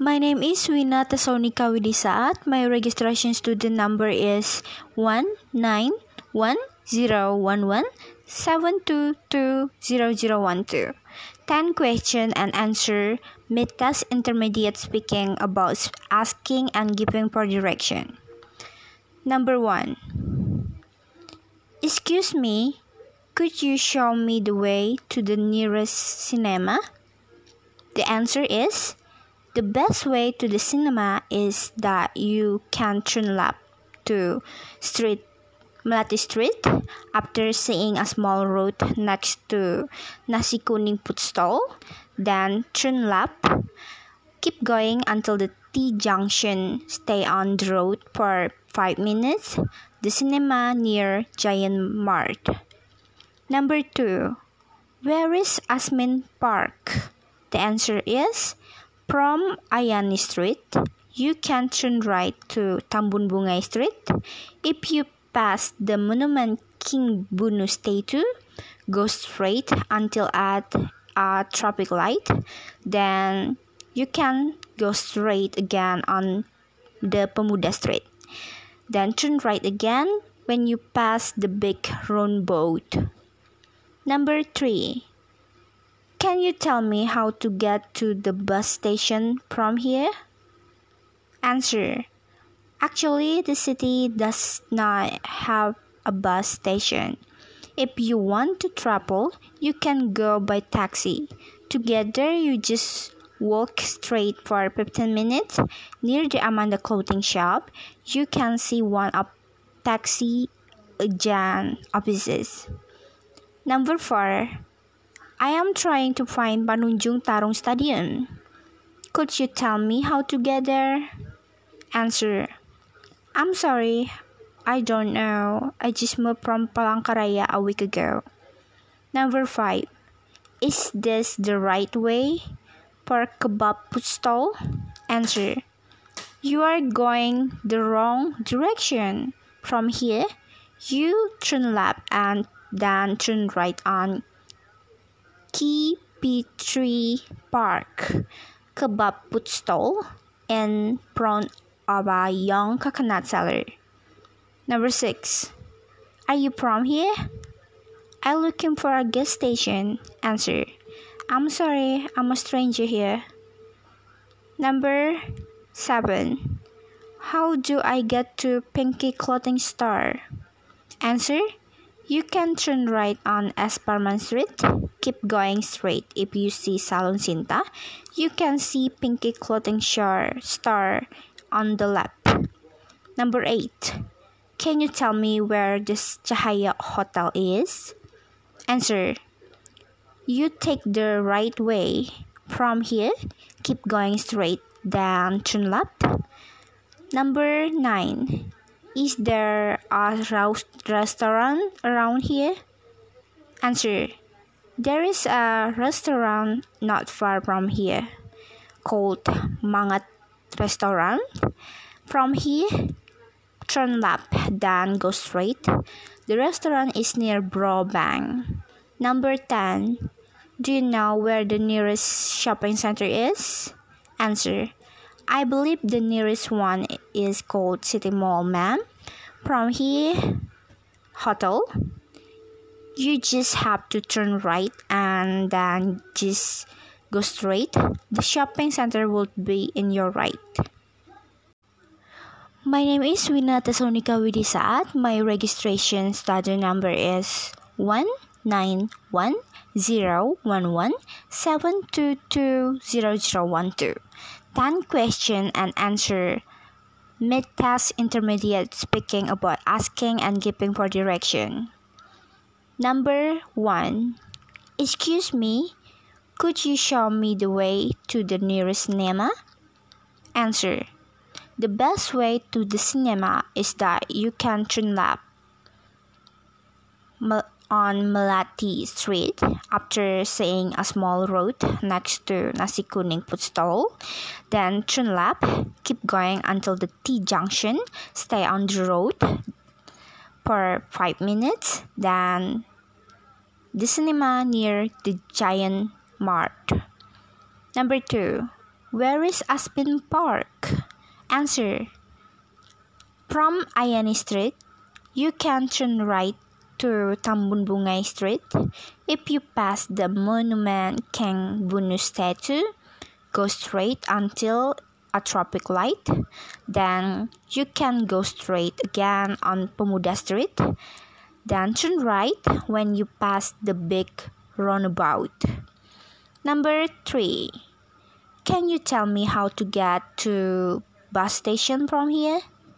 My name is Wina Tesonika Widisaat. My registration student number is 1910117220012. 10 question and answer mid-test intermediate speaking about asking and giving for direction. Number 1. Excuse me, could you show me the way to the nearest cinema? The answer is, the best way to the cinema is that you can turn left to Melati Street after seeing a small road next to Nasi Kuning food stall. Then turn left, keep going until the T junction. Stay on the road for 5 minutes. The cinema near Giant Mart. Number 2. Where is Asmin Park? The answer is, from Ayani Street, you can turn right to Tambun Bungai Street. If you pass the Monument King Bunu statue, go straight until at a traffic light. Then you can go straight again on the Pemuda Street. Then turn right again when you pass the big round boat. Number 3. Can you tell me how to get to the bus station from here? Answer. Actually, the city does not have a bus station. If you want to travel, you can go by taxi. To get there, you just walk straight for 15 minutes. Near the Amanda clothing shop, you can see one of taxi agent offices. Number 4. I am trying to find Panunjung Tarung Stadium. Could you tell me how to get there? Answer. I'm sorry, I don't know. I just moved from Palangkaraya a week ago. Number 5. Is this the right way for kebab food stall? Answer. You are going the wrong direction. From here, you turn left and then turn right on KP3 Park kebab food stall in front of a young coconut seller. Number 6. Are you from here? I'm looking for a gas station. Answer. I'm sorry, I'm a stranger here. Number 7. How do I get to Pinky Clothing Store? Answer. You can turn right on Esparman Street. Keep going straight. If you see Salon Sinta, you can see Pinky Clothing Store on the left. Number 8. Can you tell me where this Cahaya Hotel is? Answer. You take the right way. From here, keep going straight, then turn left. Number 9. Is there a restaurant around here? Answer. There is a restaurant not far from here called Mangat Restaurant. From here, turn left, then go straight. The restaurant is near Bro Bank. Number 10. Do you know where the nearest shopping center is? Answer. I believe the nearest one is called City Mall, ma'am. From here, hotel. You just have to turn right and then just go straight. The shopping center will be in your right. My name is Wina Tesonika Widisaat. My registration student number is 1910117220012. 10 question and answer mid-test intermediate speaking about asking and giving for direction. Number 1. Excuse me, could you show me the way to the nearest cinema? Answer. The best way to the cinema is that you can turn left on Melati Street after seeing a small road next to Nasi Kuning food stall. Then turn left, keep going until the T junction. Stay on the road for 5 minutes. Then the cinema near the Giant Mart. Number 2. Where is Aspen Park? Answer. From Ayani Street, you can turn right to Tambun Bungai Street. If you pass the monument Kang Bunu statue, go straight until a traffic light. Then you can go straight again on Pemuda Street. Then turn right when you pass the big roundabout. Number 3. Can you tell me how to get to bus station from here?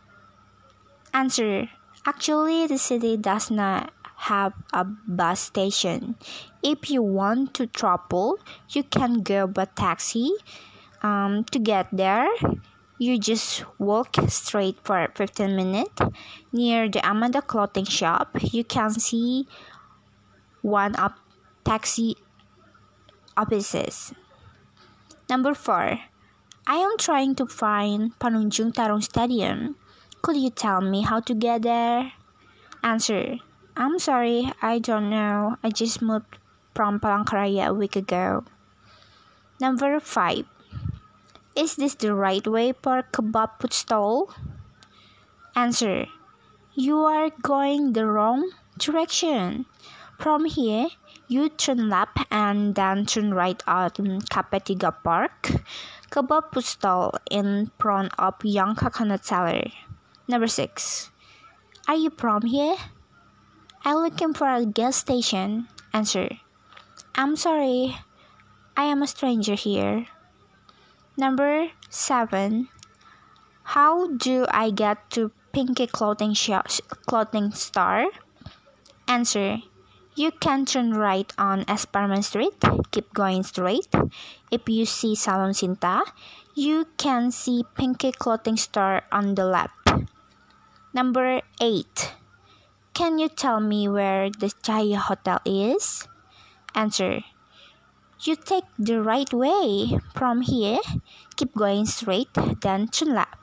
Answer. Actually, the city does not have a bus station. If you want to travel, you can go by taxi. To get there, you just walk straight for 15 minutes. Near the Amanda clothing shop, you can see one of taxi offices. Number 4. I am trying to find Panunjung Tarung Stadium. Could you tell me how to get there? Answer. I'm sorry, I don't know. I just moved from Palangkaraya a week ago. Number 5. Is this the right way for kebab food stall? Answer. You are going the wrong direction. From here, you turn left and then turn right on Kapetiga Park. Kebab food stall in front of Young Coconut Seller. Number 6. Are you from here? I'm looking for a gas station. Answer. I'm sorry, I am a stranger here. Number 7. How do I get to Pinky clothing store? Answer. You can turn right on Esperman Street. Keep going straight. If you see Salon Sinta, you can see Pinky clothing store on the left. Number 8. Can you tell me where the Chaya Hotel is? Answer. You take the right way. From here, keep going straight, then turn left.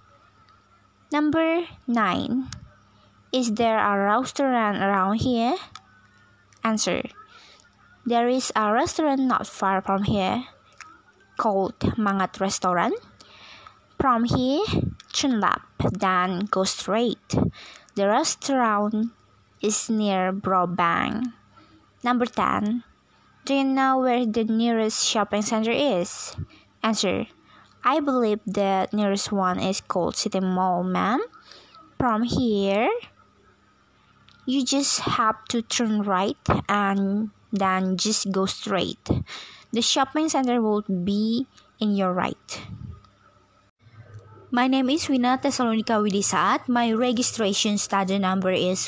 Number 9. Is there a restaurant around here? Answer. There is a restaurant not far from here called Mangat Restaurant. From here, turn left, then go straight. The restaurant is near Brobank. Number 10. Do you know where the nearest shopping center is? Answer. I believe the nearest one is called City Mall, ma'am. From here, you just have to turn right and then just go straight. The shopping center will be in your right. My name is Wina Tesalonika Widisaat. My registration study number is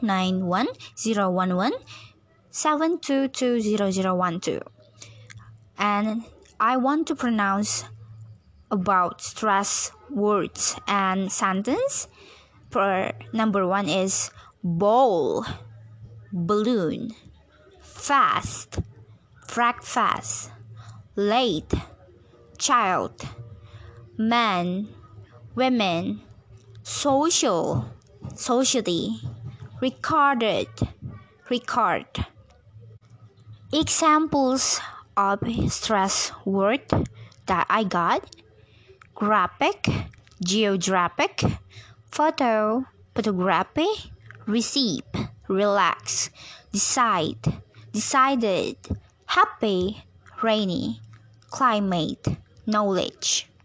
1910172200012. And I want to pronounce about stress words and sentence. For number 1 is bowl, balloon, fast, breakfast, late, child, man, women, social, society, recorded, record. Examples of stress word that I got: graphic, geographic, photo, photography, receive, relax, decide, decided, happy, rainy, climate, knowledge.